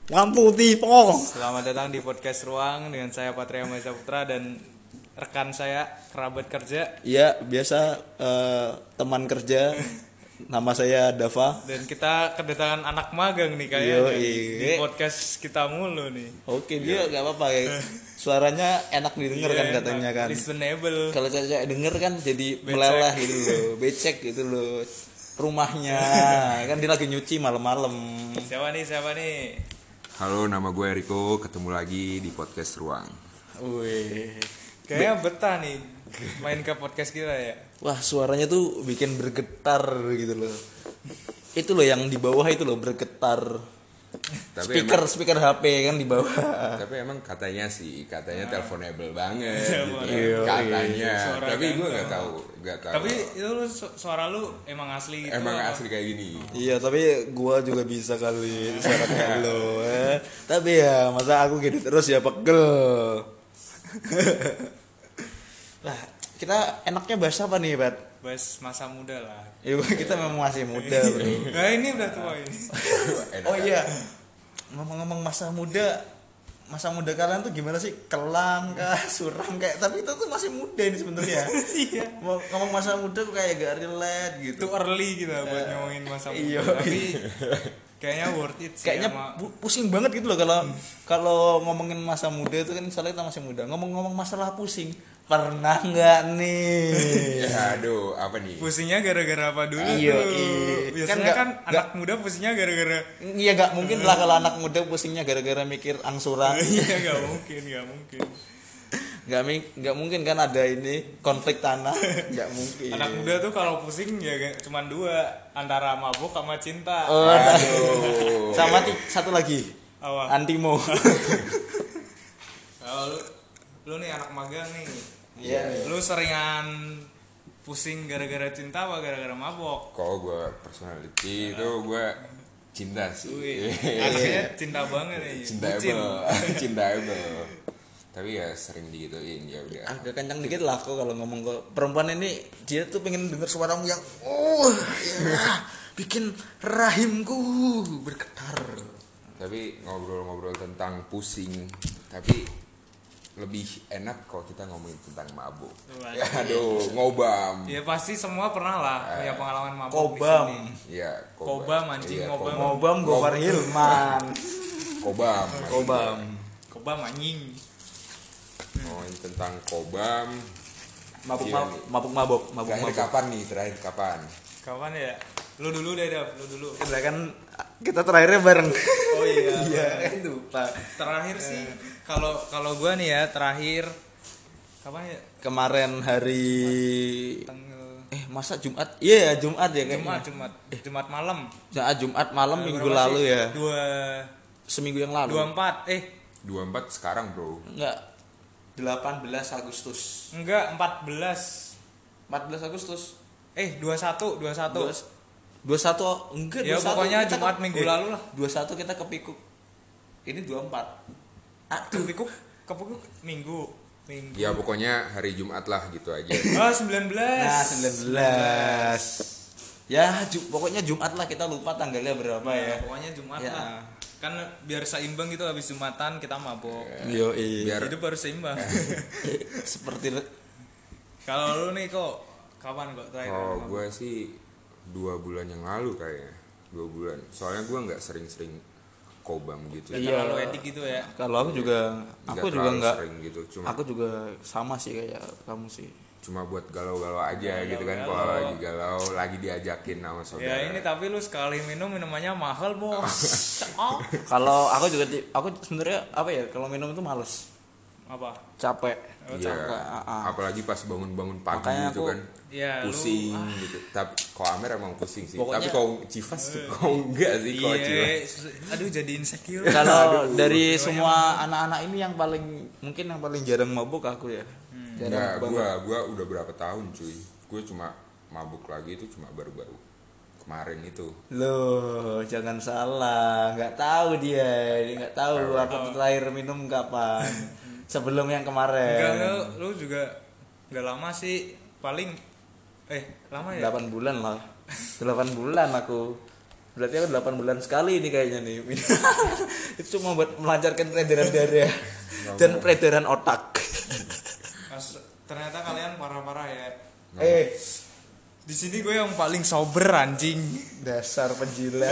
Lampu tipo. Selamat datang di podcast Ruang dengan saya Patria Maisa Putra dan rekan saya kerabat kerja. Iya, biasa teman kerja. Nama saya Dava. Dan kita kedatangan anak magang nih kayaknya di podcast kita mulu nih. Oke, dia nggak apa-apa ya. Suaranya enak didengar kan katanya kan. Listenable. Kalau saya denger kan jadi meleleh gitu loh, becek gitu loh. Rumahnya kan dia lagi nyuci malam-malam. Siapa nih? Halo, nama gue Eriko, ketemu lagi di podcast Ruang. Wih. Kayaknya betah nih main ke podcast kita ya. Wah, suaranya tuh bikin bergetar gitu loh. Itu loh yang di bawah itu loh bergetar. Tapi Speaker HP kan di bawah. Tapi emang katanya teleponable banget gitu. Iya, Katanya. Suara Tapi gue ganteng. nggak tahu. Tapi itu suara lu emang asli gitu. Emang asli kayak gini. Iya, tapi gua juga bisa kali suara kayak lo. Tapi ya masa aku gitu terus ya pegel. Lah, kita enaknya bahas apa nih, Pat? Bahas masa muda lah. Ya kita memang masih muda, Bro. Nah ini udah tua ini. Oh iya. Ngomong-ngomong masa muda kalian tuh gimana sih? Kelam kah, suram kayak, tapi itu tuh masih muda ini sebenarnya. Iya. Ngomong masa muda tuh kayak gak relate gitu. Itu early kita buat ngomongin masa muda. Iya. Tapi kayaknya worth it sih. Kayaknya pusing banget gitu loh kalau ngomongin masa muda itu kan soalnya kita masih muda. Ngomong-ngomong masalah pusing, pernah nggak nih? Ya, aduh, apa nih? pusingnya gara-gara apa dulu Iya, tuh? iya. Biasanya kan Nggak- anak muda pusingnya gara-gara Iya nggak mungkin lah kalau anak muda pusingnya gara-gara mikir angsuran. iya nggak mungkin. Nggak mungkin kan ada ini konflik tanah. Nggak mungkin. Anak muda tuh kalau pusing ya cuma dua, antara mabuk sama cinta. Oh, Aduh. sama satu lagi Apa? antimo. Kalau lu nih anak magang nih. Iya. Lu seringan pusing gara-gara cinta apa gara-gara mabok? Kalau gue personality itu gue cinta sih. Wih, anaknya cinta banget nih. Bucin. Cintaable. Tapi ya sering digituin, ya udah. Agak kencang dikit lah kok kalau ngomong ke perempuan ini, dia tuh pengen denger suaramu yang ya, bikin rahimku bergetar. Tapi ngobrol-ngobrol tentang pusing, tapi lebih enak kalau kita ngomongin tentang mabuk. Wah, Ya, aduh, ngobam. Ya pasti semua pernah lah punya pengalaman mabok Kobam. di sini. Iya, Kobam, anjing, Iya, ngobam. Ngobam Gofar Hilman. Kobam. Kobam anjing. Ngomongin tentang kobam. Mabuk. Terakhir kapan? Kapan ya? Lu dulu deh, Dav, lu dulu. Kita kan kita terakhirnya bareng. Oh iya. Iya, kan lupa. Terakhir sih kalau gua nih ya, terakhir kapan ya? Kemarin hari Tanggal masa Jumat? Iya, Jumat ya kayaknya. Jumat malam. Jumat malam minggu Berapa lalu sih? ya. Seminggu yang lalu. 24 sekarang, Bro. Enggak. 18 Agustus. enggak 14 Agustus. 21 21 enggak ya 21 pokoknya kita Jumat minggu lalu lah. 21 kita ke Pikuk. Ini 24. Kepikuk minggu Ya pokoknya hari Jumat lah gitu aja. 19 Nah, 19. Ya, pokoknya Jumat lah, kita lupa tanggalnya berapa ya. pokoknya Jumat Ya. lah, kan biar seimbang gitu, habis Jumatan kita mabok. Yo, Biar Hidup harus seimbang. seperti Kalau lu nih kok kapan kok terakhir kalau mabok? gue sih 2 bulan yang lalu kayaknya. 2 bulan. Soalnya gue nggak sering-sering kobam gitu. Nggak Iya. terlalu edik gitu ya. kalau aku juga terlalu enggak. sering gitu. Aku juga sama sih kayak kamu sih. Cuma buat galau-galau aja gitu kan. Kalau lagi galau, lagi diajakin sama saudara. Ya ini tapi lu sekali minum minumannya mahal, Bos. Oh. Kalau aku sebenarnya apa ya, kalau minum itu males, Apa? capek. Iya. Apalagi pas bangun-bangun pagi Makanya gitu aku- kan. Ya, Pusing gitu. Tapi kalau Amer emang pusing sih. Pokoknya- Tapi kalau Civas kok enggak sih kalau Civas. Iya, aduh jadi insecure. Kalau dari semua anak-anak ini yang paling jarang mabuk aku ya. Enggak, gua udah berapa tahun cuy. Gue cuma mabuk lagi itu cuma baru-baru kemarin itu. Loh, jangan salah, nggak tahu dia nggak tahu aku terakhir minum kapan. Sebelum yang kemarin. Enggak, lu juga enggak lama sih, paling lama ya? 8 bulan lah. 8 bulan aku. Berarti aku 8 bulan sekali ini kayaknya nih. Itu itu cuma buat melancarkan peredaran darah dan peredaran otak. Mas, ternyata kalian parah-parah ya. Eh, Di sini gue yang paling sober anjing. dasar penjilat.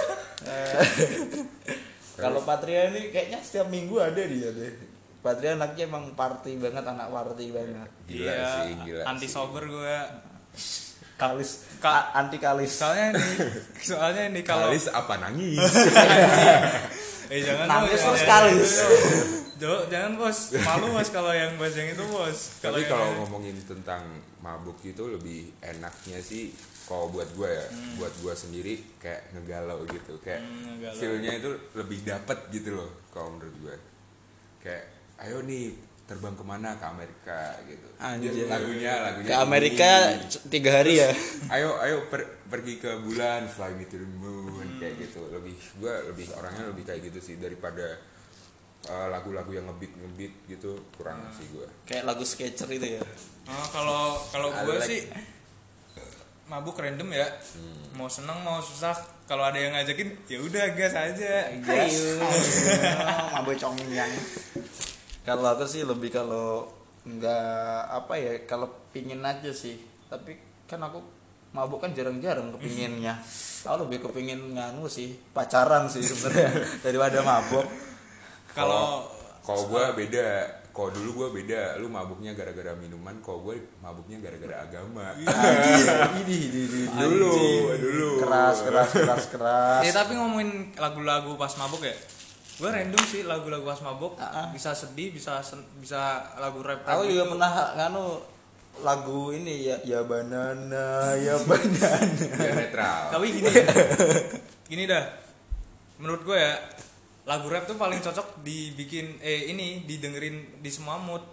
Kalau Patria ini kayaknya setiap minggu ada dia deh. Patria anaknya emang party banget, anak party banget. Gila sih, gila Anti sih. sober gue. Kalis, Ka- anti kalis. Soalnya ini kalau Kalis apa nangis? jangan Nangis bos, terus jangan. kalis. Jangan bos, malu bos kalau yang bahas yang itu bos. Tapi yang- kalau ngomongin tentang mabuk itu lebih enaknya sih kalau buat gue ya, buat gue sendiri kayak ngegalau gitu, kayak ngegalau. feelnya itu lebih dapet gitu loh kalau menurut gue. Kayak ayo nih terbang kemana ke Amerika gitu. Anjir. Lagunya Ke Amerika ini. 3 hari ya. Ayo pergi ke bulan, fly me to the moon kayak gitu. Gue orangnya lebih kayak gitu sih daripada lagu-lagu yang ngebeat gitu kurang sih gue. Kayak lagu Sketcher itu ya. Kalau gue I like- sih mabuk random ya. Mau seneng mau susah, kalau ada yang ngajakin ya udah gas aja. Ayo, mabuk congyang. Kalau aku sih lebih kalau nggak apa ya, kalau pingin aja sih. Tapi kan aku mabuk kan jarang-jarang kepinginnya. Aku lebih kepingin nganu sih, pacaran sih sebenarnya daripada mabuk. Kalau gue beda. Kalau dulu gue beda, lu mabuknya gara-gara minuman, kalau gue mabuknya gara-gara agama. Ini. Dulu. Keras. tapi ngomongin lagu-lagu pas mabuk ya. Gue random sih lagu-lagu pas mabuk. Bisa sedih, bisa lagu rap. Aku juga gitu. pernah nganu lagu ini ya banana. Biar netral. Tapi gini dah. Menurut gue ya, lagu rap tuh paling cocok dibikin didengerin di semua mood.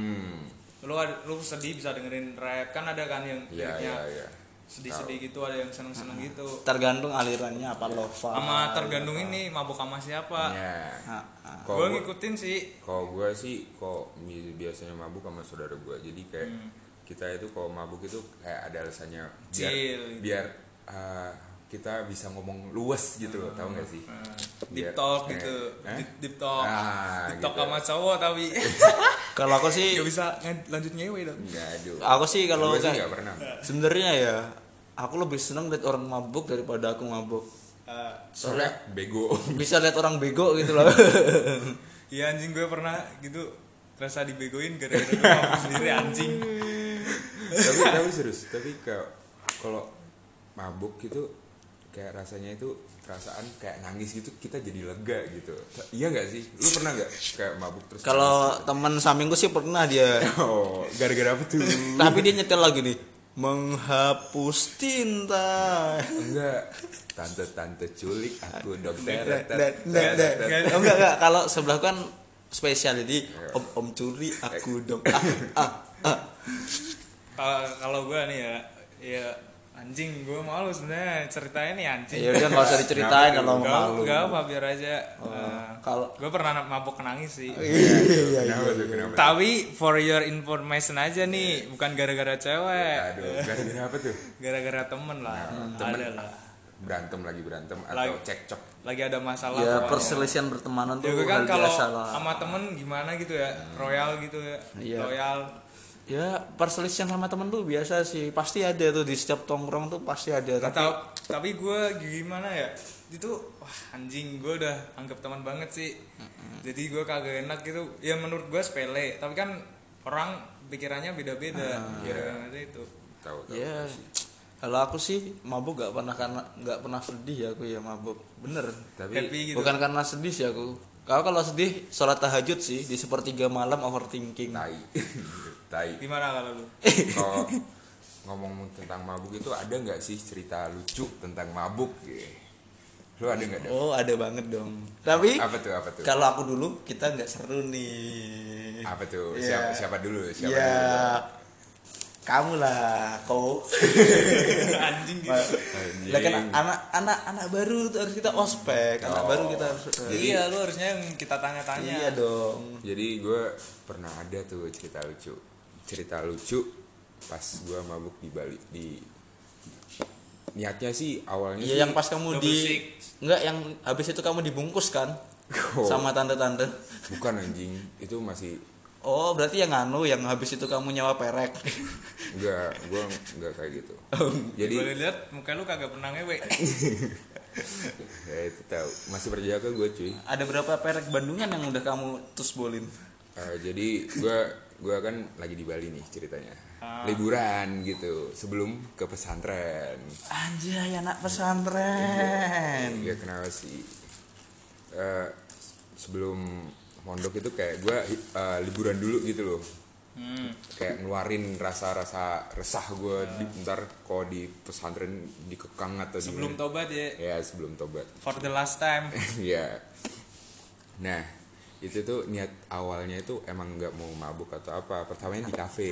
Lu sedih bisa dengerin rap, kan ada kan yang Iya. sedih-sedih gitu, ada yang seneng-seneng gitu. Tergantung alirannya apa lova. Sama tergantung ini mabuk sama siapa. Iya. Gue Kalau ngikutin sih. gue sih biasanya mabuk sama saudara gue. Jadi kayak kita itu kalau mabuk itu kayak ada alasannya Chill, gitu. biar kita bisa ngomong luas gitu loh, tahu nggak sih? Deep Biar- talk gitu. Deep talk. Deep talk gitu. sama cowok tapi Kalau aku sih gak bisa lanjut ngewe dong. Nggak, aduh. Aku sih kalau Gue sih kayak- nggak pernah. sebenarnya ya aku lebih senang lihat orang mabuk daripada aku mabuk. Soalnya bego. Bisa lihat orang bego gitu loh. Iya anjing, gue pernah gitu rasa dibegoin gara-gara gue mabuk sendiri anjing. tapi serius, tapi kalau mabuk gitu kayak rasanya itu perasaan kayak nangis gitu, kita jadi lega gitu. Iya nggak sih? Lu pernah nggak kayak mabuk terus Kalau teman sampingku sih pernah dia. nangis? Oh, gara-gara apa tuh? Tapi dia nyetel lagu nih. Menghapus tinta. Enggak, tante culik aku dokter. Enggak. Kalau sebelah kan spesial jadi om curi aku dong. Kalau gue nih ya anjing, gue malu sebenarnya ceritanya nih anjing. Ya udah enggak usah diceritain kalau mau malu. Gak apa, biar aja. Kalau Gue pernah mabuk nangis sih. Kenapa tuh? Kenapa? tuh? Tapi for your information aja nih, bukan gara-gara cewek. Aduh, gara-gara apa tuh? Gara-gara temen lah. Temen. Ada lah. Berantem atau Lagi- cekcok? Lagi ada masalah. ya pokoknya. perselisihan pertemanan Ya tuh gue kan hal kalau biasa lah. sama temen gimana gitu ya, royal gitu ya, Iya. loyal. Ya perselisihan sama temen tuh biasa sih, pasti ada tuh di setiap tongkrong tuh pasti ada. Tapi gue gimana ya, itu wah anjing, gue udah anggap teman banget sih. Jadi gue kagak enak gitu. Ya menurut gue sepele, tapi kan orang pikirannya beda-beda. Pikirannya itu. Tahu. Ya kalau aku sih mabuk nggak pernah sedih ya aku ya mabuk bener. Tapi Happy gitu. Bukan karena sedih sih aku. Kalau sedih sholat tahajud sih di sepertiga malam overthinking. tai. Gimana kalau lu? Kalau ngomong tentang mabuk itu ada nggak sih cerita lucu tentang mabuk? Lu ada nggak? Oh ada banget dong. Tapi Apa tuh? kalau aku dulu kita nggak seru nih. Apa tuh? Iya. Siapa dulu? Ya kamu lah kau. Anjing gitu. Lah kan anak baru tuh harus kita ospek. Anak baru kita harus. Iya, lu harusnya yang kita tanya-tanya. Iya dong. Jadi gue pernah ada tuh cerita lucu pas gue mabuk di Bali. Niatnya sih awalnya Iya sih yang pas kamu Double di six. enggak yang habis itu kamu dibungkus kan? Oh, sama tante-tante. bukan anjing, itu masih Oh, berarti yang yang habis itu kamu nyawa perek. enggak, gua enggak kayak gitu. Jadi Boleh lihat muka lu kagak pernah ngewe. ya itu tahu, masih berjaga gue cuy. Ada berapa perek Bandungan yang udah kamu tusbolin? Jadi gua kan lagi di Bali nih ceritanya. Ah. Liburan gitu sebelum ke pesantren. Anjay, anak pesantren. Ya kenapa sih? Sebelum pondok itu kayak gue liburan dulu gitu loh. Kayak ngeluarin rasa-rasa resah gue ntar kalau di pesantren dikekang atau Sebelum gimana. tobat ya. Ya sebelum tobat. For the last time. Ya. Nah itu tuh niat awalnya itu emang nggak mau mabuk atau apa. Pertamanya di kafe.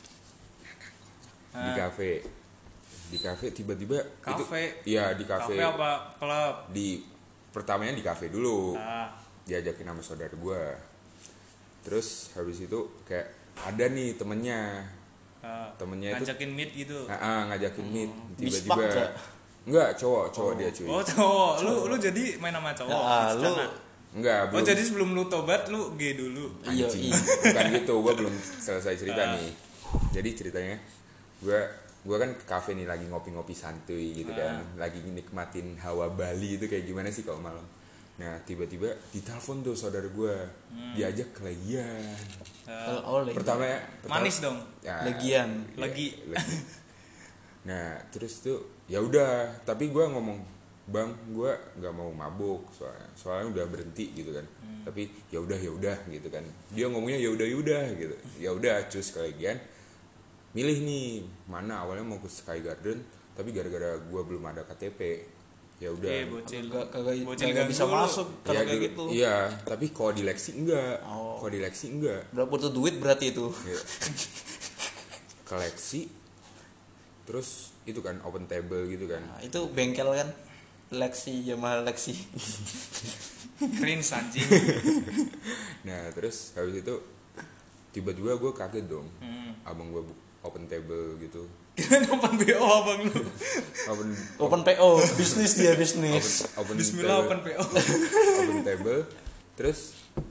Di kafe tiba-tiba Kafe? itu, iya di kafe. Kafe apa klub? Pertamanya di kafe dulu. Ah. Diajakin sama saudara gue. Terus habis itu kayak ada nih temennya itu Ngajakin meet gitu. ngajakin meet Bispak tiba-tiba gak? enggak cowok dia cuy. Oh cowok, lu jadi main sama cowok. Ya, di lu sana? Enggak Oh belum. jadi sebelum lu tobat lu gay dulu. Iya, Anjing. iya. Bukan gitu, gue belum selesai cerita nih. Jadi ceritanya gue kan ke kafe nih lagi ngopi-ngopi santuy gitu kan, lagi nikmatin hawa Bali itu kayak gimana sih kalau malam. Nah tiba-tiba ditelepon tuh saudara gue, diajak ke Legian. Oh, Pertama Manis dong. ya, Legian. ya, Lagi. Nah terus tuh ya udah, tapi gue ngomong bang gue nggak mau mabuk soalnya udah berhenti gitu kan. Tapi ya udah gitu kan, dia ngomongnya ya udah gitu. Ya udah cus ke Legian, milih nih mana, awalnya mau ke Sky Garden tapi gara-gara gue belum ada KTP ya udah. Bocil. Kagak ganggu bisa lu. masuk kalau kayak gitu. Iya tapi kalau di Lexi enggak. Oh. Kalau di Lexi enggak. Berapa butuh duit berarti itu? Iya. Ke Lexi terus itu kan open table gitu kan. Nah, itu bengkel kan? Lexi, Yamaha Lexi. Cringe anjing. Nah terus habis itu tiba-tiba gue kaget dong, abang gue open table gitu. Open BO abang lu. Open PO, bisnis dia bisnis. open Bismillah table, open PO. open table. Terus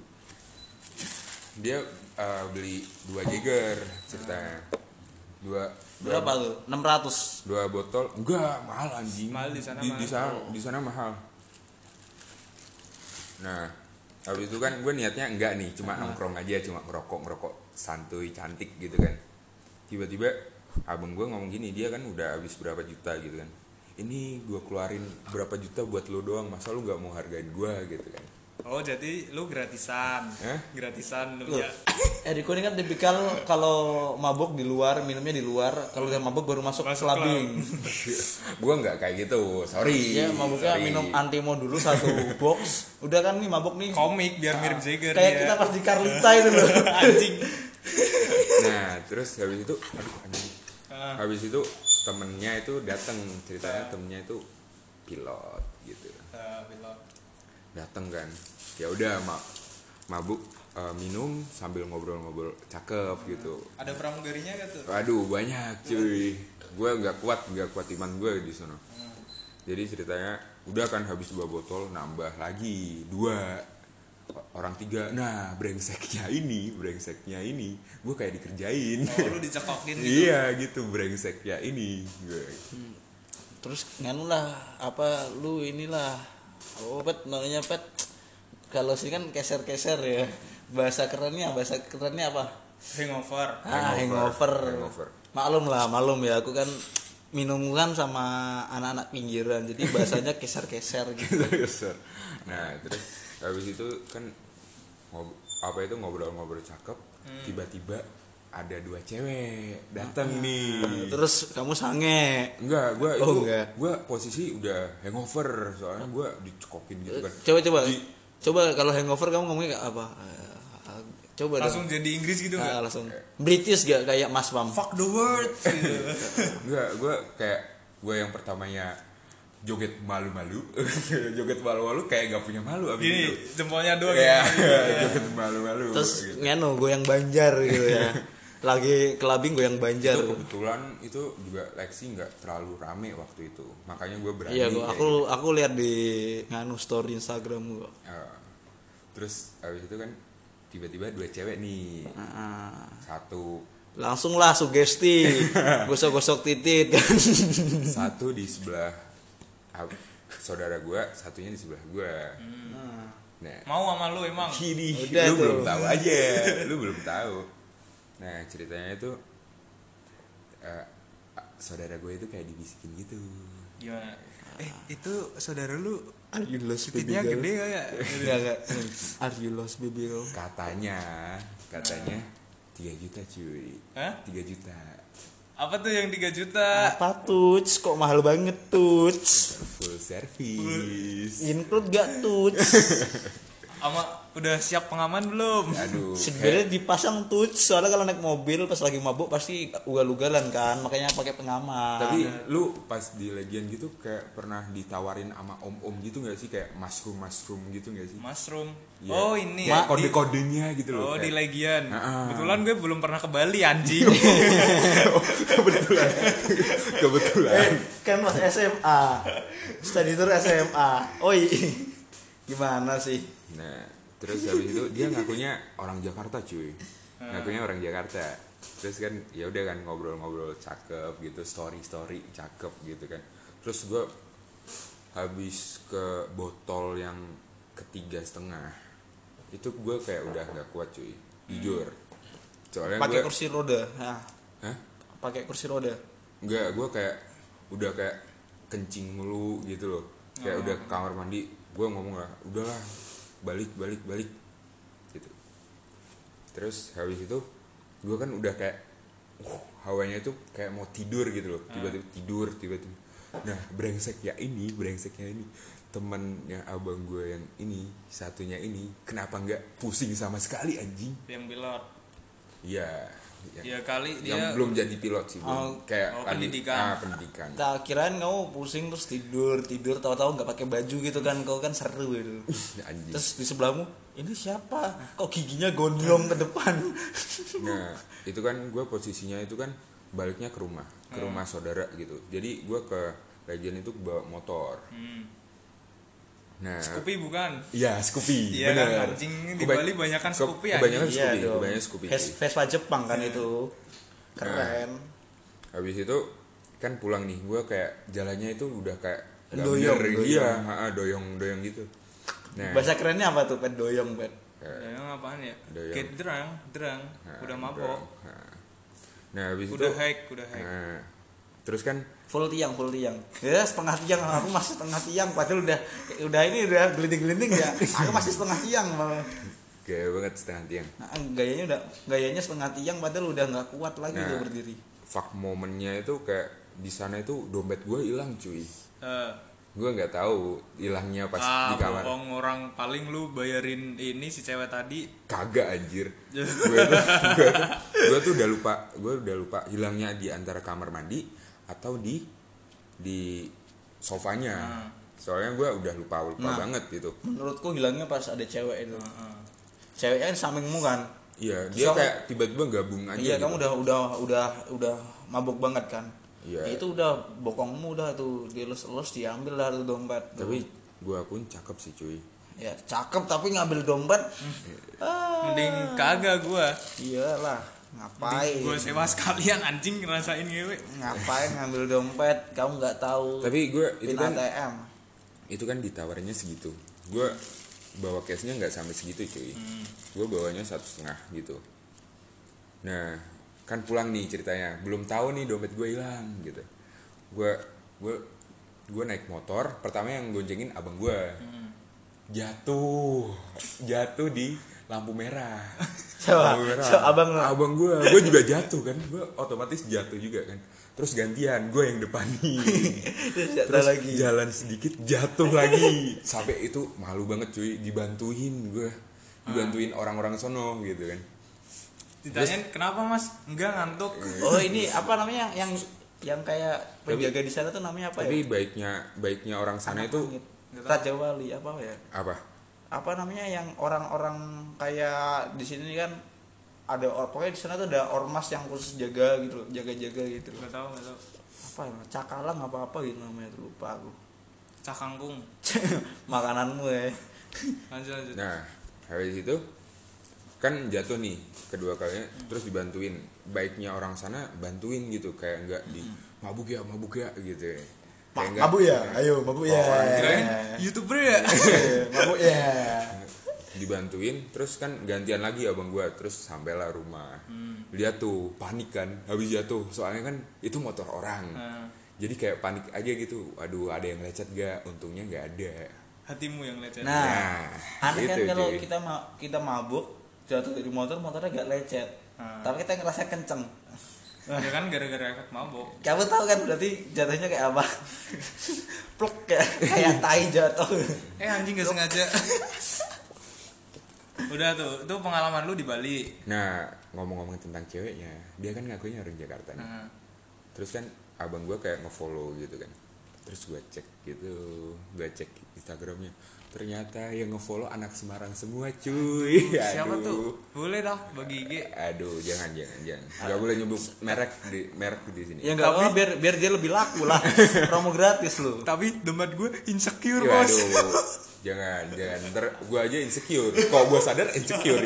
dia beli 2 Jager ceritanya. Berapa tuh? 600. 2 botol. Enggak, mahal anjing. Mahal di sana, Di sana mahal. Nah, habis itu kan gue niatnya enggak nih, cuma nongkrong aja, cuma ngerokok santuy cantik gitu kan. Tiba-tiba abang gue ngomong gini, dia kan udah habis berapa juta gitu kan. Ini gue keluarin berapa juta buat lo doang, masa lo nggak mau hargain gue gitu kan. Oh jadi lu gratisan. Gratisan lu Loh, ya. Eriko ini kan tipikal kalau mabuk di luar, minumnya di luar. Kalau udah mabuk baru masuk clubbing. Gue nggak kayak gitu, sorry. Iya, mabuknya sorry. minum Antimo dulu 1 box. Udah kan nih mabuk nih. Komik biar mirip Jagger Kayak ya. kita pas di Carlita itu loh. Anjing. Nah terus habis itu anjing. Habis itu temennya itu datang, ceritanya temennya itu pilot gitu. Pilot. Datang kan, ya udah mabuk, minum sambil ngobrol-ngobrol cakep gitu. Ada pramugarinya gak tuh? Waduh banyak cuy, gue nggak kuat iman gue di sana. Jadi ceritanya udah kan habis 2 botol, nambah lagi 2 orang 3. Nah brengseknya ini gue kayak dikerjain. Oh lu dicekokin gitu. Iya gitu, brengseknya ini gue. Terus nganu lah, apa lu inilah. Oh, Pet, namanya Pet. Kalau sih kan keser-keser ya. Bahasa kerennya apa? Hangover. Hangover. Maklum ya, aku kan minum kan sama anak-anak pinggiran. Jadi bahasanya keser-keser gitu. Nah terus habis itu kan ngobrol-ngobrol cakep, tiba-tiba ada 2 cewek datang nih. Terus kamu sange? Enggak, enggak. gue posisi udah hangover soalnya gue dicekokin gitu kan. Coba kalau hangover kamu ngomongnya kayak apa? Coba Langsung jadi Inggris gitu nggak? langsung British gak kayak Mas Pam? Fuck the world. Enggak, gue yang pertamanya joget malu-malu. Joget malu-malu kayak gak punya malu abis Gini, itu. jempolnya doang Ya, ya. joget malu-malu. Terus gitu. nganu goyang Banjar gitu ya. Lagi kelabing goyang Banjar. Itu kebetulan itu juga Lexi nggak terlalu rame waktu itu, makanya gue berani. Iya, kayak aku lihat di nganu story Instagram gua. Terus habis itu kan tiba-tiba 2 cewek nih. Satu Langsung lah sugesti, gosok-gosok titit kan. satu di sebelah saudara gue, satunya di sebelah gue. Nah, Mau sama lu emang? Kini, Udah lu tuh. belum tahu aja, lu belum tahu. Nah ceritanya itu saudara gue itu kayak dibisikin gitu. Gimana? Itu saudara lu Are you lost titiknya gede gak ya? Enggak. Are you lost baby girl? Katanya 3 juta cuy. Hah? 3 juta. Apa tuh yang 3 juta? Apa tuts? Kok mahal banget tuts? Full service. Include gak tuts? Sama udah siap pengaman belum? Aduh. Sebenarnya dipasang tuts, soalnya kalau naik mobil pas lagi mabuk pasti ugal-ugalan kan, makanya pakai pengaman. Tapi lu pas di Legian gitu kayak pernah ditawarin sama om-om gitu gak sih? Kayak mushroom gitu gak sih? Mushroom. Iya. Oh ini Kayak di- kode-kodenya gitu loh. Oh di kayak- Legian. Ah. Kebetulan gue belum pernah ke Bali anjing. Kebetulan. Kan mas SMA, study tour SMA. Oi, gimana sih? Nah, terus habis itu dia ngakunya orang Jakarta cuy. Ngakunya orang Jakarta. Terus kan ya udah kan ngobrol-ngobrol cakep gitu, story cakep gitu kan. Terus gue habis ke botol yang ketiga setengah itu gue kayak udah nggak kuat cuy, jujur. Soalnya Pakai gue kursi roda. Nah, Hah? pakai kursi roda. Enggak, gue kayak udah kayak kencing mulu gitu loh. Kayak udah ke kamar mandi, gue ngomong lah, udahlah balik gitu. Terus habis itu gue kan udah kayak hawanya itu kayak mau tidur gitu loh, tiba-tiba tiba-tiba. Nah brengseknya ini temannya abang gue yang ini satunya ini kenapa nggak pusing sama sekali anjing? Yang pilot. Iya. Ya kali Yang dia belum jadi pilot sih, belum. Kayak lagi- pendidikan. pendidikan. Tak kirain kamu pusing terus tidur tahu-tahu nggak pakai baju gitu kan, kau kan seru gitu. Anjing. Terus di sebelahmu, ini siapa? Kok giginya gondrong ke depan? Nah itu kan gue posisinya itu kan baliknya ke rumah saudara gitu. Jadi gue ke Legian itu bawa motor. Nah Scoopy bukan? iya Scoopy, Iya kan, bener. anjing, di Bali banyakan Scoopy, Kebanyakan anjing. Scoopy, dong. kebanyakan Scoopy. cuy. Vespa Jepang kan itu. Keren. Habis itu kan pulang nih, gue kayak jalannya itu udah kayak nggak Doyong, bener, doyong. iya, doyong gitu. Nah, Bahasa kerennya apa tuh? Pet doyong, pet. Yang apaan ya? Doyong. Kayak derang. nah, Udah mabok. Nah, habis Udah itu, hack. nah, terus kan Full tiang. Ya, setengah tiang. Aku masih setengah tiang. Padahal udah ini udah gelinting-gelinting ya. Aku masih setengah tiang malah. gaya banget setengah tiang. Nah, gayanya setengah tiang padahal udah nggak kuat lagi Nah. dia berdiri. Fuck momennya itu kayak di sana itu dompet gue hilang cuy. Eh, Gue nggak tahu hilangnya pas di kamar. bohong, orang paling lu bayarin ini si cewek tadi. Kagak anjir. Gue tuh udah lupa hilangnya di antara kamar mandi atau di sofanya. Soalnya gue udah lupa Nah. banget gitu. Menurutku hilangnya pas ada cewek itu. Ceweknya kan sampingmu kan. Iya, Terus dia kamu- kayak tiba-tiba gabung aja. Iya, gitu. kamu udah mabuk banget kan. Iya. Ya, itu udah bokongmu udah tuh dielus-elus diambil lah tuh dompet. Tapi gue pun cakep sih cuy. Ya cakep tapi ngambil dompet. Mending kagak gua. Iyalah, ngapain? Gua sewa sekalian anjing ngerasain ngewe. Ngapain ngambil dompet? Kamu nggak tahu. Tapi gue pin itu kan ATM. itu kan ditawarinnya segitu. Gue bawa cashnya nggak sampai segitu cuy. Gue bawanya 1,5 gitu. Nah kan pulang nih ceritanya, belum tahu nih dompet gue hilang gitu. Gue naik motor, pertama yang goncengin abang gue. Jatuh di lampu merah. Coba, Lampu merah. so, abang gue juga jatuh kan, gue otomatis jatuh juga kan. Terus gantian, gue yang depan nih. Terus Terus lagi. jalan sedikit jatuh lagi. Sampai itu malu banget cuy, dibantuin orang-orang sono gitu kan. Ditanyain kenapa mas? Enggak, ngantuk. Oh ini apa namanya yang kayak penjaga di sana tuh namanya apa Tapi ya? baiknya orang sana itu Langit. Raja Wali apa ya? apa? Apa namanya yang orang-orang kayak di sini kan ada pokoknya di sana tuh ada ormas yang khusus jaga gitu, jaga-jaga gitu. Gak tahu. Apa ya? Cakalang apa gitu namanya tuh lupa aku. Cakangkung. Makananmu ya. Lanjut. Nah, habis itu kan jatuh nih kedua kalinya, terus dibantuin. Baiknya orang sana bantuin gitu, kayak enggak di mabuk ya gitu ya. Kayak enggak, Mabuk ya, ayo mabuk ya. Kirain YouTuber ya. Mabuk ya. dibantuin, terus kan gantian lagi abang gua, terus sampailah rumah. Lihat tuh panik kan, habis jatuh, soalnya kan itu motor orang. Jadi kayak panik aja gitu, aduh ada yang lecet gak, untungnya nggak ada. Hatimu yang lecet. Nah, aneh kan gitu, kalau cuy. kita motornya gak lecet. Tapi kita ngerasa kenceng. Ya kan gara-gara efek mabok. Kamu tahu kan berarti jatuhnya kayak apa? Pluk kayak tai jatuh. Anjing gak sengaja. Udah tuh, itu pengalaman lu di Bali. Nah, ngomong-ngomong tentang ceweknya, dia kan ngakunya orang Jakarta nih. Terus kan abang gue kayak nge-follow gitu kan. Terus gue cek Instagramnya. Ternyata yang nge-follow anak Semarang semua cuy. Siapa Aduh. tuh? Boleh dah bagi IG. Aduh, jangan. Gak boleh nyebut merek di sini. Ya enggak apa biar dia lebih laku lah. Promo gratis lu. Tapi dompet gue insecure, Ya, Bos. aduh. Jangan. Ntar gue aja insecure. Kok gue sadar insecure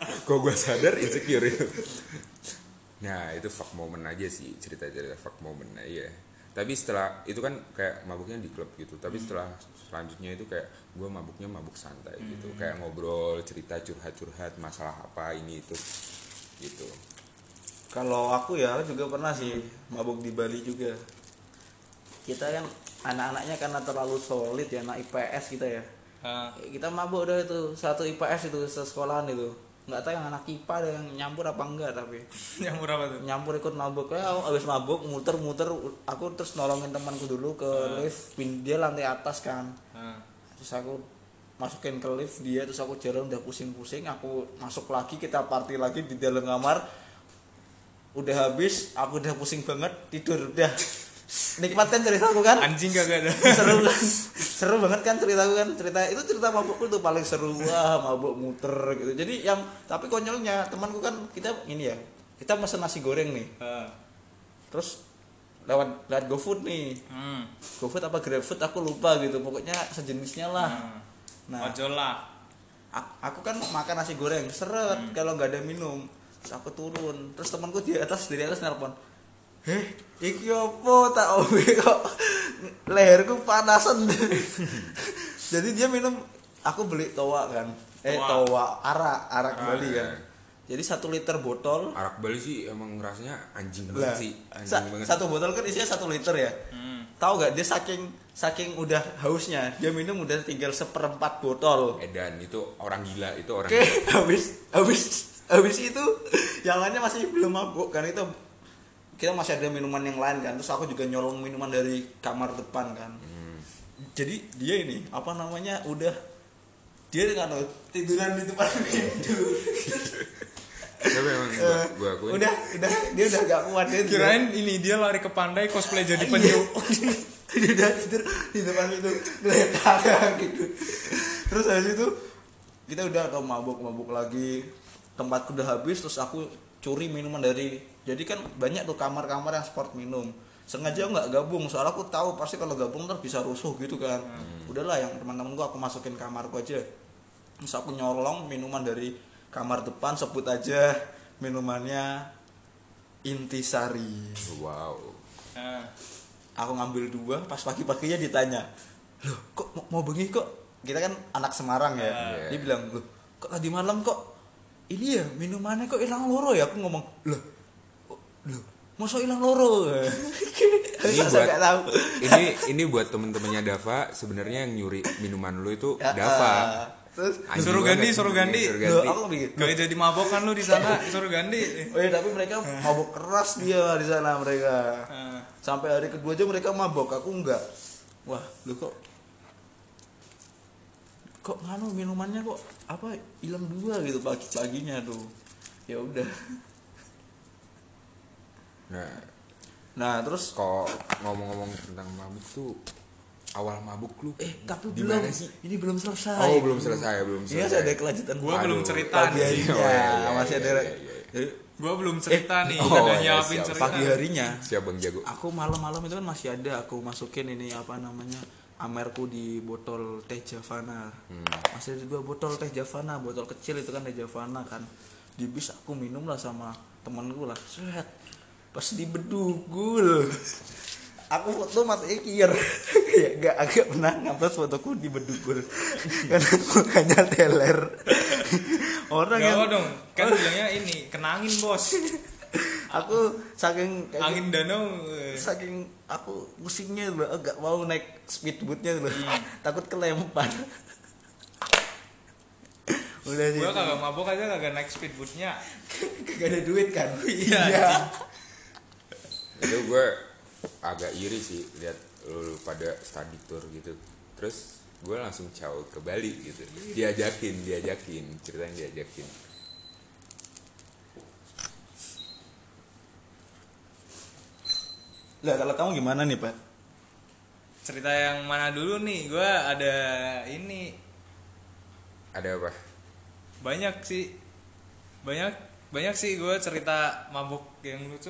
itu. Nah, itu fuck moment aja sih, cerita-cerita fuck moment aja. Tapi setelah itu kan kayak mabuknya di klub gitu. Tapi selanjutnya itu kayak gue mabuknya mabuk santai gitu. Kayak ngobrol, cerita, curhat masalah apa ini itu gitu. Kalau aku ya juga pernah sih mabuk di Bali juga. Kita kan anak-anaknya karena terlalu solid ya, anak IPS kita ya. Kita mabuk udah itu satu IPS itu sesekolahan itu. Nggak tahu yang anak IPA ada yang nyampur apa enggak, tapi Nyampur apa tuh? nyampur ikut mabuk. Kayak abis mabuk muter-muter, aku terus nolongin temanku dulu ke lift, dia lantai atas kan. Terus aku masukin ke lift dia, terus aku jalan udah pusing-pusing, aku masuk lagi, kita party lagi di dalam kamar. Udah habis, aku udah pusing banget, tidur udah. Nikmat kan ceritaku kan? Anjing kagak ada. Seru kan? Seru banget kan ceritaku kan? Cerita mabukku tuh paling seru. Wah, mabuk muter gitu. Jadi yang tapi konyolnya temanku kan, kita ini ya, kita pesen nasi goreng nih. Terus lewat GoFood nih. GoFood apa GrabFood aku lupa gitu. Pokoknya sejenisnya lah. Nah, ojol lah. aku kan makan nasi goreng seret kalau nggak ada minum. Terus aku turun. Terus temanku di atas nelpon. Iki opo tak ombe kok leherku panasan. Jadi dia minum, aku beli toa kan. Toa arak Bali kan. Jadi 1 liter botol. Arak Bali sih emang rasanya anjing banget sih. Banget. Satu botol kan isinya 1 liter ya. Tahu gak dia saking udah hausnya, dia minum udah tinggal 1/4 botol. Edan itu orang gila, itu orang. Oke, habis itu yang lainnya masih belum mabuk kan, itu kita masih ada minuman yang lain kan. Terus aku juga nyolong minuman dari kamar depan kan. Jadi dia ini apa namanya udah dia dengan tiduran di depan pintu. Tapi emang gua akuin. Udah dia udah gak kuat dia. Kirain ini dia lari ke pandai cosplay jadi penyu. Dia udah tidur di depan itu geletak gitu. Terus habis itu kita udah mabuk lagi. Tempatku udah habis, terus aku curi minuman dari, jadi kan banyak tuh kamar-kamar yang sport minum. Sengaja nggak gabung, soalnya aku tahu pasti kalau gabung ntar bisa rusuh gitu kan. Udahlah yang teman-teman gua aku masukin kamarku aja. Terus aku nyolong minuman dari kamar depan, sebut aja minumannya Intisari. Wow. Aku ngambil 2, pas pagi-paginya ditanya, loh kok mau bengi kok? Kita kan anak Semarang ya. Dia bilang, loh kok tadi malam kok ini ya minumannya kok hilang loro ya? Aku ngomong, loh masa hilang loro? Ini buat temen-temennya Dava, sebenarnya yang nyuri minuman lu itu Dava. Terus Suruh ganti. loh, aku bikin. Gak jadi mabok kan lu di sana, suruh ganti. Oh iya, tapi mereka mabok keras dia di sana mereka. Sampai hari kedua aja mereka mabok, aku enggak. Wah, lu kok nganu minumannya kok apa hilang 2 gitu pagi-paginya tuh. Ya udah. Nah, terus Kok ngomong-ngomong tentang mabuk tuh, awal mabuk lu tapi gimana belum sih? ini belum selesai. Oh, belum selesai. Ini masih ada kelanjutan. Gua belum cerita pagi nih. harinya. Oh, iya, Masih ada. Jadi Gua belum cerita nih, oh, udah iya, nyiapin siap. cerita. pagi harinya Siap Bang Jago. aku malam-malam itu kan masih ada aku masukin ini apa namanya Amerku di botol teh Javana. Masih ada 2 botol teh Javana, botol kecil itu kan teh Javana kan. Di bis aku minum lah sama temanku lah. Set. Pas di bedugul. Aku foto matanya kier. Ya agak pernah ngupload fotoku di bedugul. Karena mukanya teler. Orang Gak yang apa dong, kan bilangnya ini kenangin bos. aku saking Angin danau. saking aku pusingnya loh, agak mau naik speedboatnya loh. Takut kelempar. Udah sih. Gua kagak mabok aja kagak naik speedboatnya. Gak ada duit kan. Iya. Itu gue agak iri sih lihat lu pada study tour gitu. Terus gue langsung caw ke Bali gitu. Diajakin ceritanya diajakin. Lah kalau kamu gimana nih, Pak? Cerita yang mana dulu nih? Gua ada ini Ada apa? banyak sih gue cerita mabuk yang lucu.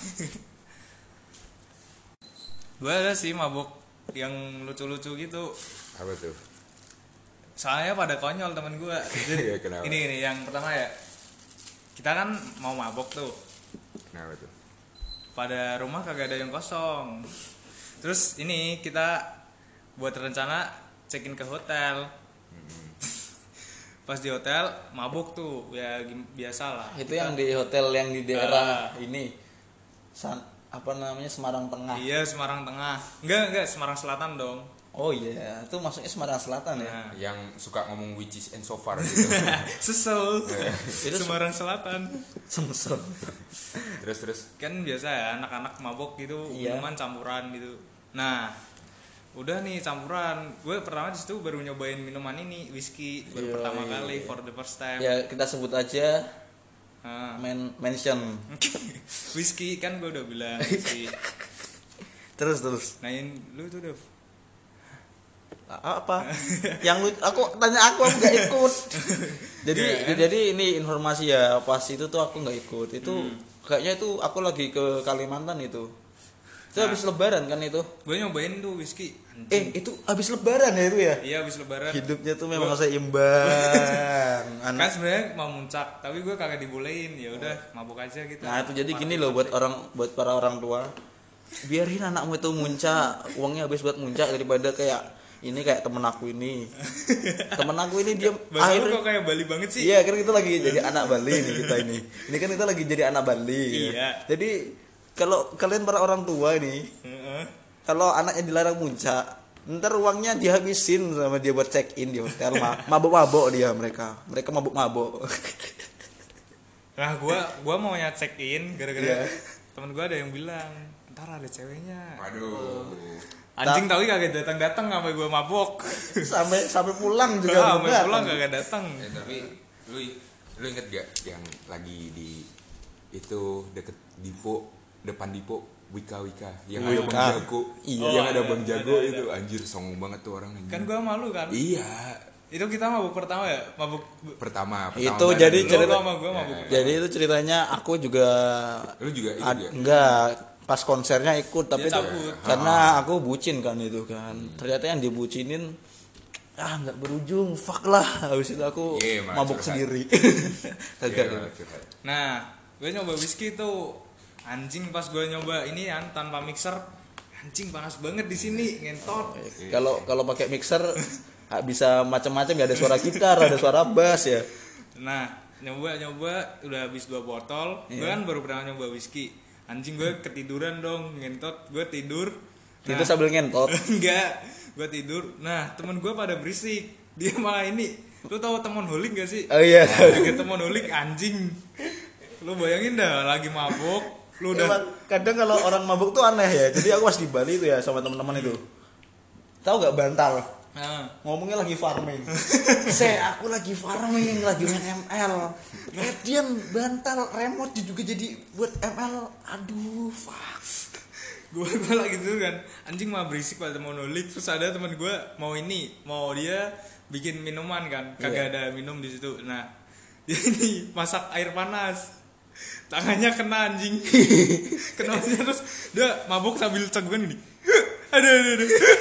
Gue ada sih mabuk yang lucu-lucu gitu, Apa tuh? soalnya pada konyol temen gue. Jadi Ya, kenapa? ini yang pertama ya, kita kan mau mabuk tuh, Kenapa tuh? pada rumah kagak ada yang kosong. Terus ini kita buat rencana check-in ke hotel. Pas di hotel mabuk tuh ya biasa lah. Itu yang di hotel yang di daerah ini. Apa namanya, Semarang Tengah. Iya, Semarang Tengah. Enggak Semarang Selatan dong. Oh iya, itu maksudnya Semarang Selatan ya. Nah, Yang suka ngomong which is and so far gitu. sesel. Itu Semarang Selatan. Semsel. Terus Kan biasa ya anak-anak mabok gitu, Iya. minuman campuran gitu. Nah, udah nih campuran. Gue pertama di situ baru nyobain minuman ini, whisky baru pertama kali for the first time. Ya kita sebut aja Nah, mention. whisky kan gue udah bilang whisky. Terus. Nah, lu tuh udah Apa? Yang lu aku tanya aku nggak ikut. Jadi ini informasi ya, pas itu tuh aku nggak ikut. Itu kayaknya itu aku lagi ke Kalimantan itu. Itu habis lebaran kan itu. gue nyobain tuh whisky. Itu habis lebaran ya itu ya? Iya, habis lebaran. Hidupnya tuh memang seimbang. Kan sebenarnya mau muncak, tapi gue kagak dibolehin. Ya udah, mabuk aja gitu. Nah, itu jadi gini loh buat para orang tua. Biarin anakmu itu muncak, uangnya habis buat muncak daripada kayak ini kayak temen aku ini. Temen aku ini dia Bahasa lu kok kayak Bali banget sih. Iya, kan kita lagi jadi anak Bali nih kita ini. Ini kan kita lagi jadi anak Bali. Iya. Ya. Jadi kalau kalian para orang tua ini, Heeh. kalau anaknya dilarang muncak, ntar uangnya dihabisin sama dia buat check in di hotel. Mabuk-mabuk dia mereka mabuk-mabuk. Nah, gua mau check in gara-gara Iya. temen gua ada yang bilang, "Ntar ada ceweknya." waduh. Anjing tahu kagak datang-datang sampai gua mabok. sampai pulang juga Ah, belum sampai pulang datang. kagak datang. Tapi lu inget gak yang lagi di itu deket depan Dipo Wika yang ada Wika. Bang Jago. Iya. Yang ada Ada, Bang Jago ada. itu anjir songong banget tuh orang anjir. Kan gua malu kan. Iya. Itu kita mabuk pertama ya? Mabuk Pertama Itu bareng. jadi lu cerita- sama gua mabuk. Jadi itu ceritanya aku juga Lu juga ikut ya? enggak pas konsernya ikut tapi Dia itu cabut. karena aku bucin kan itu kan. Ternyata yang dibucinin nggak berujung, fuck lah. Habis itu aku Iya, malah mabuk curhat. sendiri. Iya, Kagak. malah curhat. Nah, gue nyoba whisky tuh. Anjing pas gue nyoba ini kan tanpa mixer, anjing panas banget di sini, ngentot. Kalau pakai mixer bisa macam-macam ya, ada suara gitar, ada suara bass ya. Nah, nyoba udah habis 2 botol. Gue Iya. kan baru pernah nyoba whisky. Anjing gue ketiduran dong, ngentot. Gue tidur. Itu sambil ngentot. Enggak, gue tidur. Nah, temen gue pada berisik. Dia malah ini. Lu tahu temen holik gak sih? Oh iya. Kayak temen holik anjing. Lu bayangin dah lagi mabuk. Lu udah Emang kadang kalau orang mabuk tuh aneh ya. Jadi aku pas di Bali tuh ya sama teman-teman itu. Tahu nggak bantal? Nah, Ngomongnya lagi farming. Aku lagi farming, lagi main ML. Radian bantal remote juga jadi buat ML. Aduh, fuck. gue lagi tidur kan, anjing mah berisik pada temen holik. Terus ada temen gue mau dia bikin minuman kan, kagak ada minum di situ. Nah, dia ini masak air panas, tangannya kena anjing. Kenanya terus dia mabuk sambil cegukan gini. Aduh.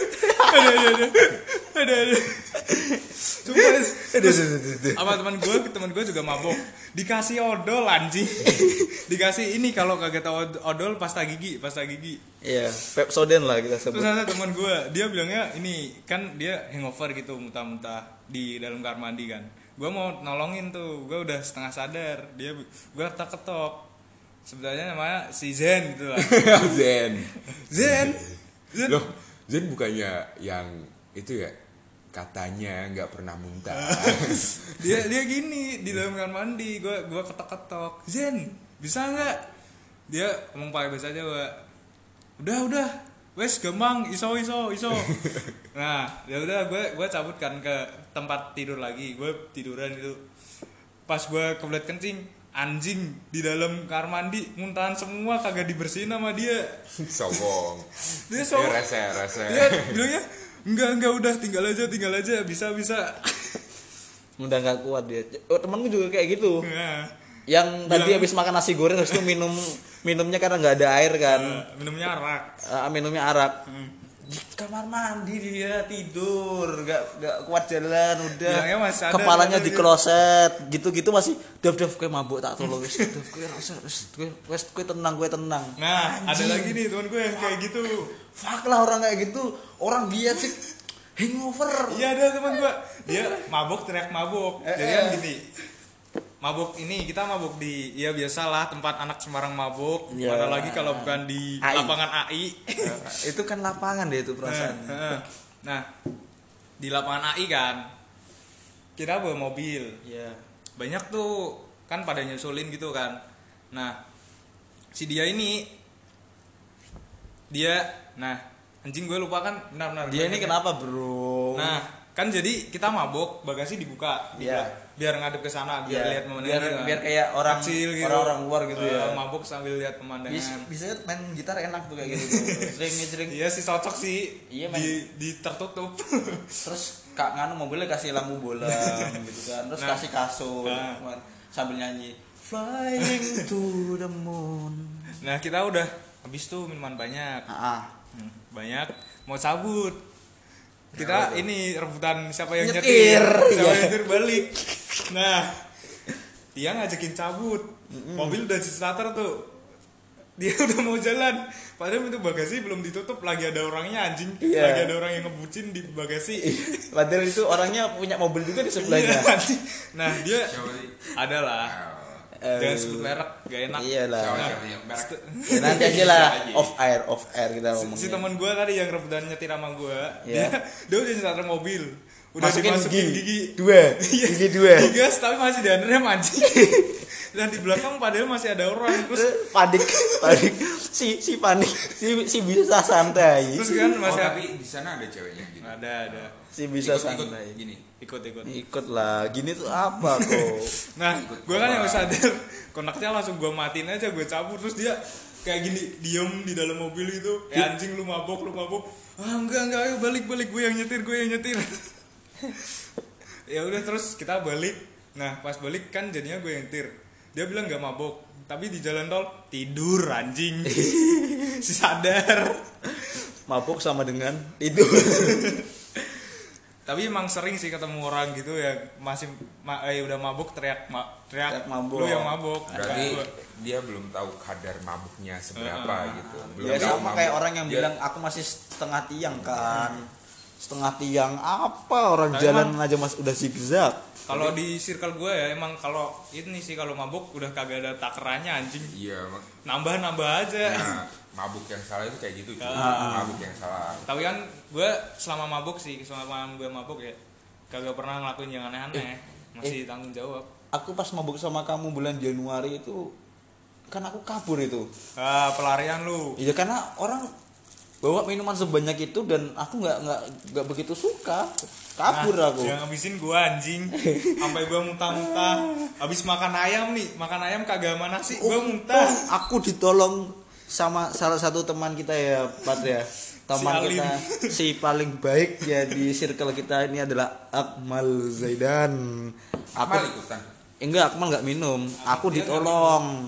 ada sumpah sama teman gue juga mabok, dikasih odol anjing. Dikasih ini, kalau kagak tahu odol, pasta gigi. Iya, Pepsodent lah kita sebut. Terus ada teman gue, dia bilangnya ini kan dia hangover gitu, muntah-muntah di dalam kamar mandi kan. Gue mau nolongin tuh, gue udah setengah sadar, gue ketok. Sebenarnya namanya si Zen gitu lah. Zen. Loh, Zen bukannya yang itu ya, katanya nggak pernah muntah. dia gini di dalam kamar mandi, gue ketok, Zen bisa nggak? Dia ngomong pakai bahasa Jawa, udah wes gampang, iso. Nah ya udah, gue cabut kan ke tempat tidur lagi, gue tiduran itu. Pas gue kebelet kencing, anjing di dalam kamar mandi muntahan semua, kagak dibersihin sama dia. Sombong. Dia sombong. Rese. Dia bilangnya enggak, udah tinggal aja, bisa. Udah nggak kuat dia. Oh, temanku juga kayak gitu. Nah, Yang tadi habis makan nasi goreng terus itu minumnya karena nggak ada air kan. minumnya arak. Minumnya arak. Di kamar mandi dia tidur, nggak kuat jalan, udah. Bilangnya masih ada, kepalanya ada di dia. kloset, gitu masih dev kayak mabuk, tak tolong wis. Dev kayak rasa gue tenang. Nah, Anjing. ada lagi nih teman gue yang kayak gitu. Fuck lah orang kayak gitu, orang dia sih hangover. Iya, ada teman gue, dia mabuk, teriak mabuk. Jadi kan gini, mabuk ini kita mabuk di, ya biasalah tempat anak Semarang mabuk. Ya. Mana lagi kalau bukan di AI. lapangan AI. Itu kan lapangan deh itu perasaan. Nah, di lapangan AI kan kita bawa mobil, Iya. banyak tuh kan pada nyusulin gitu kan. Nah, si dia anjing gue lupa kan, benar Dia ini kenapa, Bro? Nah, kan jadi kita mabok, bagasi dibuka, Iya. biar ngadep ke sana, biar Iya. lihat pemandangan gitu kan. biar kayak orang Kecil gitu. orang luar gitu ya. Mabok sambil lihat pemandangan. Bisa main gitar enak tuh kayak gitu. Sering. Iya sih, cocok sih. Iya, men. di tertutup. Terus Kak Nganu mobilnya kasih lampu bola gitu kan. Terus Nah. kasih kasur sambil nyanyi Flying to the moon. Nah, kita udah habis tuh minuman banyak. Banyak, mau cabut. Kita ini rebutan siapa yang Nyetir. siapa Iya. yang nyetir balik. Nah, dia ngajakin cabut. Mobil udah starter tuh. Dia udah mau jalan. Padahal itu bagasi belum ditutup, lagi ada orangnya anjing. Iya. Lagi ada orang yang ngebucin di bagasi. Padahal itu orangnya punya mobil juga di sebelahnya. Iya, anjing. Nah, dia ada lah. Jangan sebut merek, gak enak. Iyalah. Nah, Ya, nanti aja lah off air kita ngomongin. si teman gue tadi yang rebutan nyetir sama gue, Iya. dia udah starter mobil, udah Masukin dimasukin gigi. gigi Gigi dua. digas tapi masih di rem anjing. Dan di belakang padahal masih ada orang. Terus panik si panik si bisa santai. terus kan masih tapi di sana ada ceweknya gitu. ada Si bisa Ikut santai. gini. Ikut lah, gini tuh apa kok? Nah, gue kan yang sadar kontaknya langsung gue matiin aja, gue cabut. Terus dia kayak gini diem di dalam mobil itu, anjing lu mabok. Enggak, ayo balik, gue yang nyetir. Ya udah, terus kita balik. Nah, pas balik kan jadinya gue yang nyetir. Dia bilang nggak mabok, tapi di jalan tol tidur anjing. Si sadar. Mabuk sama dengan tidur. Tapi emang sering sih ketemu orang gitu ya, masih udah mabuk teriak mabuk. lu yang mabuk. Berarti Bukan gua. dia belum tahu kadar mabuknya seberapa gitu. Belum Ya tahu sama mabuk. kayak orang yang Dia- bilang aku masih setengah tiang kan. Setengah tiang apa orang Nah, jalan aja mas udah zigzag. Kalau di circle gue ya emang kalau ini sih, kalau mabuk udah kagak ada takarannya anjing. Iya, Nambah aja. nah, mabuk yang salah itu kayak gitu, cuy. Ah. Mabuk yang salah. Tapi kan gue selama gue mabuk ya kagak pernah ngelakuin yang aneh-aneh. Masih tanggung jawab. Aku pas mabuk sama kamu bulan Januari itu kan aku kabur itu. Pelarian lu. Iya karena orang bawa minuman sebanyak itu dan aku nggak begitu suka. Kabur aku. Yang ngabisin gue anjing. Sampai gue muntah-muntah. Habis makan ayam kagak sama nasi, gue muntah. Aku ditolong sama salah satu teman kita ya, Pat ya. Teman Si Alim. kita si paling baik ya di circle kita ini adalah Akmal Zaidan. Akmal ikutan. Enggak, Akmal enggak minum. Aku Dia ditolong.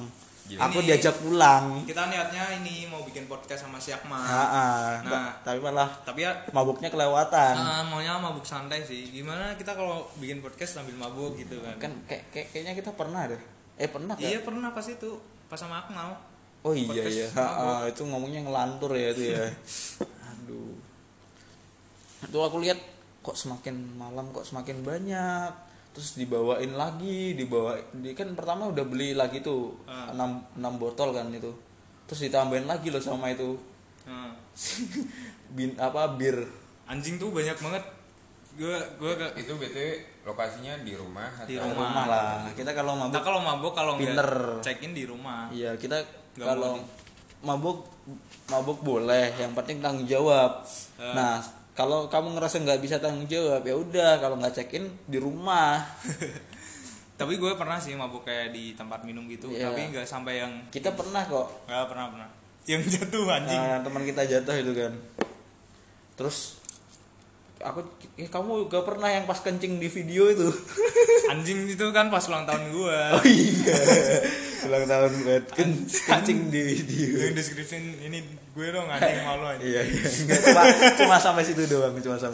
Aku Ini- diajak pulang. Kita niatnya ini mau bikin podcast sama si Akmal. Nah, tapi malah Tapi ya mabuknya kelewatan. maunya mabuk santai sih. Gimana kita kalau bikin podcast sambil mabuk gitu kan? Kan kayaknya kita pernah deh. Pernah kan? Iya pernah pas itu, pas sama Akmal. Oh iya Podcast iya. mabuk. Itu ngomongnya ngelantur ya itu ya. Aduh. Itu aku lihat kok semakin malam kok semakin banyak. Terus dibawain lagi, kan pertama udah beli lagi tuh 6 botol kan itu. Terus ditambahin lagi loh sama itu. Nah, Bir. anjing tuh banyak banget. Gua Itu BTW lokasinya di rumah Di atau Rumah lah. Kita kalau Kita mabuk kalau mabuk kalau Pinter. nggak check in di rumah. iya, kita Nggak kalau mau mabuk boleh, yang penting tanggung jawab. Nah, kalau kamu ngerasa nggak bisa tanggung jawab ya udah, kalau nggak check in di rumah. Tapi gue pernah sih mabuk kayak di tempat minum gitu. Iya. Tapi nggak sampai yang Kita pernah kok. nggak pernah. Yang jatuh anjing. Teman kita jatuh itu kan. Terus kamu gak pernah yang pas kencing di video itu. Anjing itu kan pas ulang tahun gue. Oh iya. Ulang tahun buat kencing di video. Yang deskripsiin ini gue dong anjing malu anjing. Iya. Enggak, cuma sampai situ doang.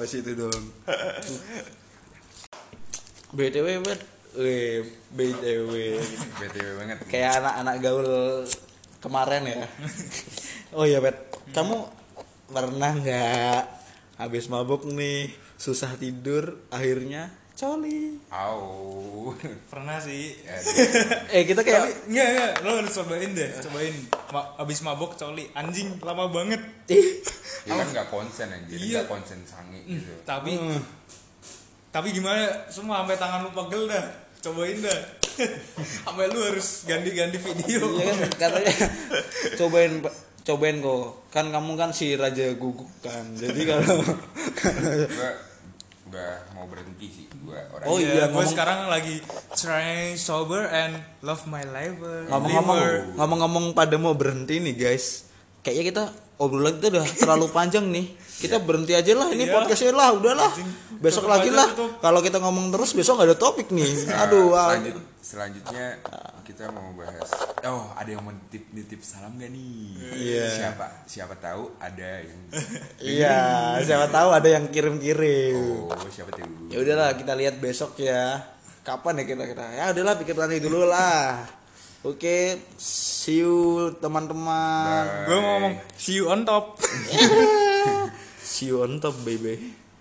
BTW bet. BTW. BTW banget. Kayak anak-anak gaul kemarin ya. Oh iya bet. Kamu pernah nggak habis mabuk nih susah tidur akhirnya coli? Au. Pernah sih. Kita kayak Tapi enggak, lo harus cobain deh. Abis mabok coli anjing lama banget. Ya kan nggak konsen anjir, Iya. nggak konsen sange gitu. Tapi gimana? Semua sampai tangan lu pegel dah. Cobain dah. Sampai lu harus ganti-ganti video. iya kan katanya cobain kok. Kan kamu kan si raja guguk kan. Jadi kalau Gua udah mau berhenti sih gua orang. Oh iya, gue ngomong- sekarang lagi trying sober and love my life. ngomong-ngomong pada mau berhenti nih guys. Kayaknya kita obrolan itu udah terlalu panjang nih. Kita berhenti aja lah ini Iya. podcastnya lah, udahlah. Besok Tutup lagi aja, lah. tutup. Kalau kita ngomong terus besok nggak ada topik nih. Aduh. Selanjutnya kita mau bahas. Oh, ada yang mau nitip salam gak nih? Iya. Siapa tahu ada yang. Iya, siapa tahu ada yang kirim-kirim. Oh, siapa tahu. Ya udahlah kita lihat besok ya. Kapan ya kita? Ya udahlah pikir nanti dulu lah. Oke, see you teman-teman. Bye. Gue ngomong see you on top. See you on top baby.